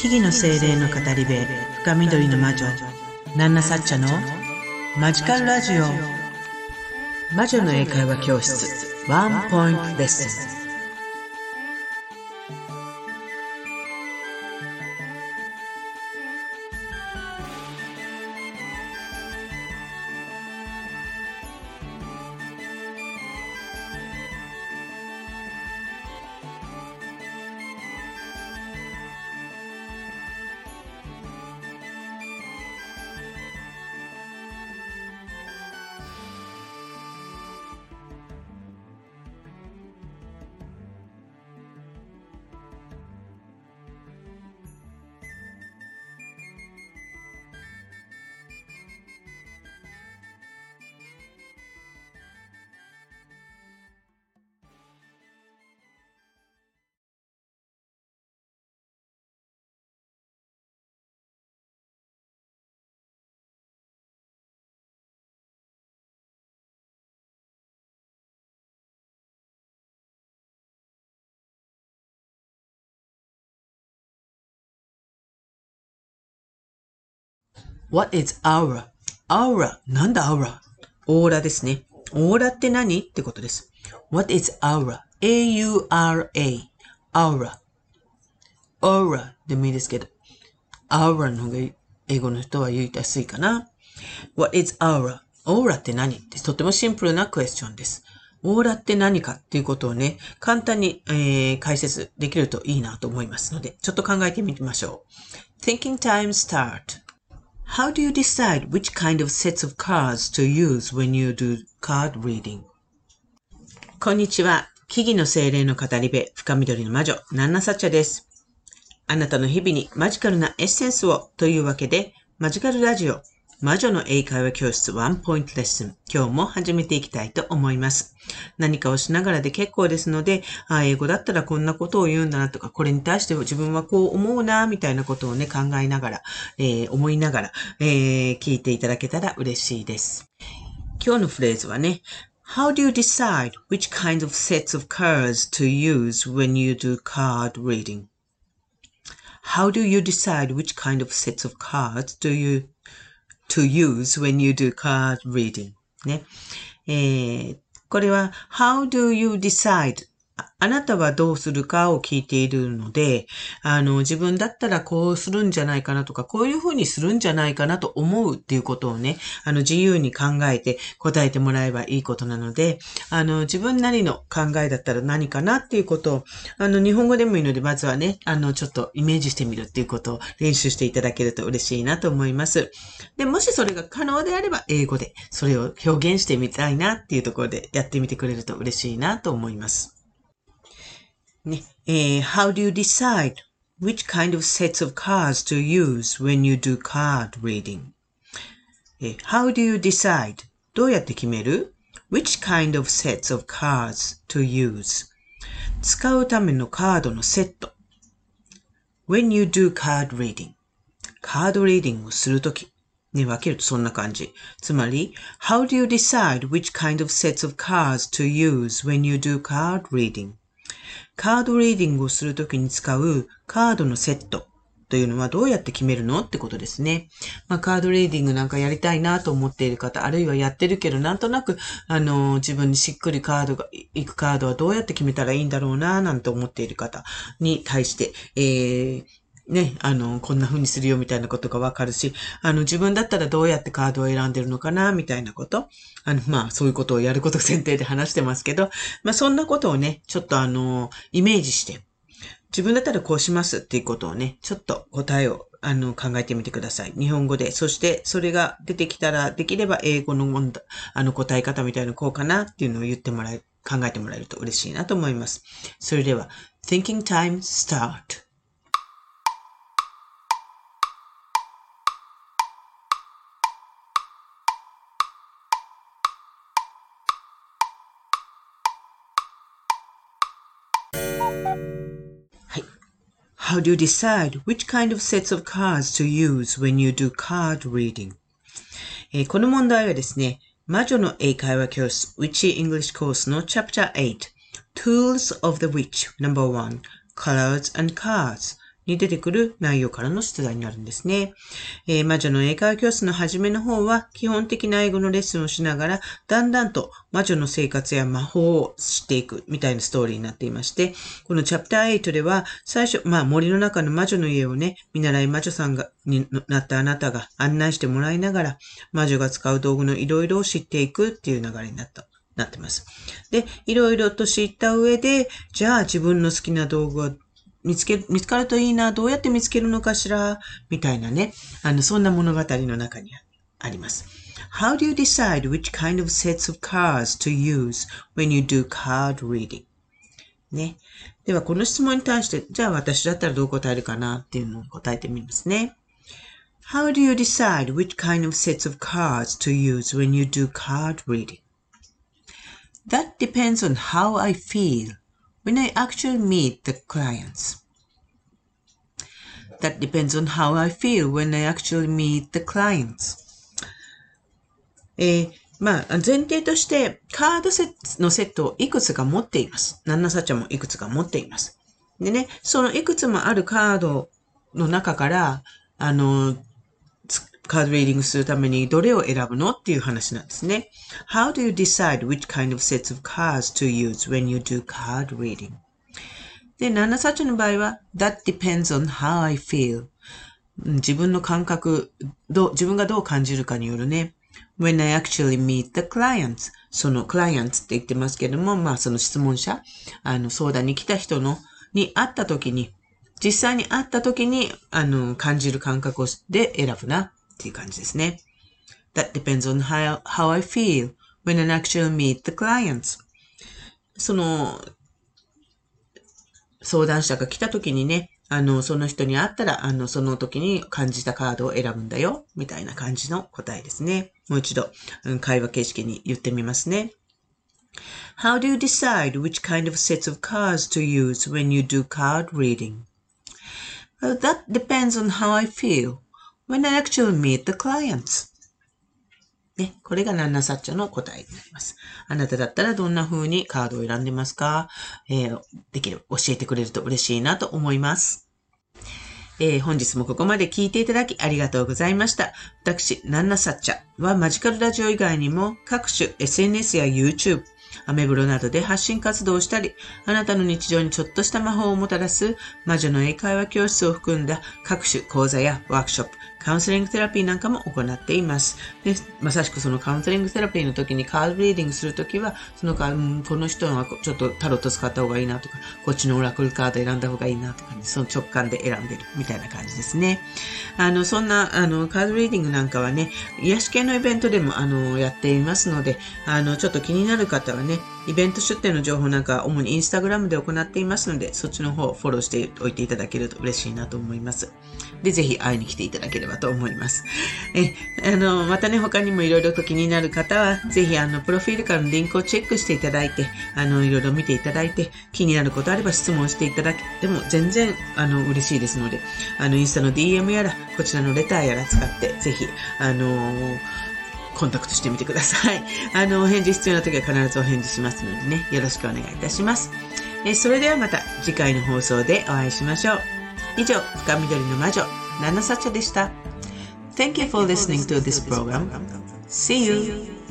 木々の精霊の語り部、深緑の魔女、ナンナサッチャのマジカルラジオ。魔女の英会話教室、ワンポイントレッスン。What is aura? Aura. なんだ aura? オーラですね。オーラって何ってことです。What is aura? A-U-R-A. aura. aura でもいいですけど。aura の方が英語の人は言いやすいかな。What is aura? オーラって何ってとてもシンプルなクエスチョンです。オーラって何かっていうことをね、簡単に、解説できるといいなと思いますので、ちょっと考えてみましょう。Thinking time start.How do you decide which kind of sets of cards to use when you do card reading? こんにちは。木々の精霊の語り部、深緑の魔女、ナンナサッチャです。あなたの日々にマジカルなエッセンスをというわけで、マジカルラジオ、魔女の英会話教室ワンポイントレッスン、今日も始めていきたいと思います。何かをしながらで結構ですので、英語だったらこんなことを言うんだなとか、これに対して自分はこう思うな、みたいなことをね、考えながら、思いながら、聞いていただけたら嬉しいです。今日のフレーズはね、How do you decide which kind of sets of cards to use when you do card reading? How do you decide which kind of sets of cards to use when you do card reading? ね。これは How do you decide? あなたはどうするかを聞いているので、自分だったらこうするんじゃないかなとか、こういうふうにするんじゃないかなと思うっていうことをね、自由に考えて答えてもらえばいいことなので、自分なりの考えだったら何かなっていうことを、日本語でもいいので、まずはね、ちょっとイメージしてみるっていうことを練習していただけると嬉しいなと思います。で、もしそれが可能であれば、英語でそれを表現してみたいなっていうところでやってみてくれると嬉しいなと思います。ね、How do you decide which kind of sets of cards to use when you do card reading? How do you decide? どうやって決める ?Which kind of sets of cards to use? 使うためのカードのセット。When you do card reading. カードリーディングをするとき。ね、分けるとそんな感じ。つまり、How do you decide which kind of sets of cards to use when you do card reading?カードリーディングをするときに使うカードのセットというのはどうやって決めるのってことですね。カードリーディングなんかやりたいなと思っている方、あるいはやってるけどなんとなく、自分にしっくりいくカードはどうやって決めたらいいんだろうななんて思っている方に対して、ね、こんな風にするよみたいなことがわかるし、自分だったらどうやってカードを選んでるのかなみたいなこと。そういうことをやること前提で話してますけど、そんなことをね、ちょっとイメージして、自分だったらこうしますっていうことをね、ちょっと答えを、考えてみてください。日本語で。そして、それが出てきたら、できれば英語の答え方みたいなこうかなっていうのを考えてもらえると嬉しいなと思います。それでは、Thinking Time Start!How do you decide which kind of sets of cards to use when you do card reading? この問題はですね、魔女の英会話教室 Witchy English Course の Chapter 8 Tools of the Witch No.1 Colors and Cards に出てくる内容からの出題になるんですね。魔女の英会話教室の初めの方は基本的な英語のレッスンをしながらだんだんと魔女の生活や魔法を知っていくみたいなストーリーになっていまして、このチャプター8では最初、森の中の魔女の家をね、見習い魔女さんになったあなたが案内してもらいながら魔女が使う道具のいろいろを知っていくっていう流れになってます。で、いろいろと知った上で、じゃあ自分の好きな道具を見つかるといいな、どうやって見つけるのかしら、みたいなね、そんな物語の中にあります。How do you decide which kind of sets of cards to use when you do card reading? ね。では、この質問に対して、じゃあ私だったらどう答えるかなっていうのを答えてみますね。How do you decide which kind of sets of cards to use when you do card reading? That depends on how I feel when I actually meet the clients. That depends on how I feel when I actually meet the clients. 前提として、カードのセットをいくつか持っています。ナンナサチャもいくつか持っています。でね、そのいくつもあるカードの中から、カードリーディングするためにどれを選ぶのっていう話なんですね。How do you decide which kind of sets of cards to use when you do card reading? で、ナンナサチャの場合は、That depends on how I feel. 自分の感覚、自分がどう感じるかによるね。When I actually meet the clients. その clients って言ってますけども、その質問者、相談に来た人に会った時に、実際に会った時に、感じる感覚で選ぶなっていう感じですね。That depends on how I feel when I actually meet the clients. その、相談者が来た時にね、その人に会ったら、その時に感じたカードを選ぶんだよ、みたいな感じの答えですね。もう一度、会話形式に言ってみますね。How do you decide which kind of sets of cards to use when you do card reading? Well, that depends on how I feel when I actually meet the clients. ね、これがナンナサッチャの答えになります。あなただったらどんな風にカードを選んでますか？できる、教えてくれると嬉しいなと思います。本日もここまで聞いていただきありがとうございました。私、ナンナサッチャはマジカルラジオ以外にも各種 SNS や YouTube、アメブロなどで発信活動をしたり、あなたの日常にちょっとした魔法をもたらす魔女の英会話教室を含んだ各種講座やワークショップ、カウンセリングセラピーなんかも行っています。で、まさしくそのカウンセリングセラピーの時にカードリーディングするときは、この人はちょっとタロット使った方がいいなとか、こっちのオラクルカード選んだ方がいいなとかね、その直感で選んでるみたいな感じですね。そんな、カードリーディングなんかはね、癒し系のイベントでも、やっていますので、ちょっと気になる方はね、イベント出店の情報なんかは主にインスタグラムで行っていますので、そっちの方をフォローしておいていただけると嬉しいなと思います。で、ぜひ会いに来ていただければと思います。またね、他にもいろいろと気になる方は、ぜひプロフィールからのリンクをチェックしていただいて、いろいろ見ていただいて、気になることあれば質問していただけても全然、嬉しいですので、インスタの DM やら、こちらのレターやら使って、ぜひ、コンタクトしてみてください。お返事必要な時は必ずお返事しますのでね、よろしくお願いいたします。それではまた次回の放送でお会いしましょう。以上、深緑の魔女、ナナサチャでした。Thank you for listening to this program. See you!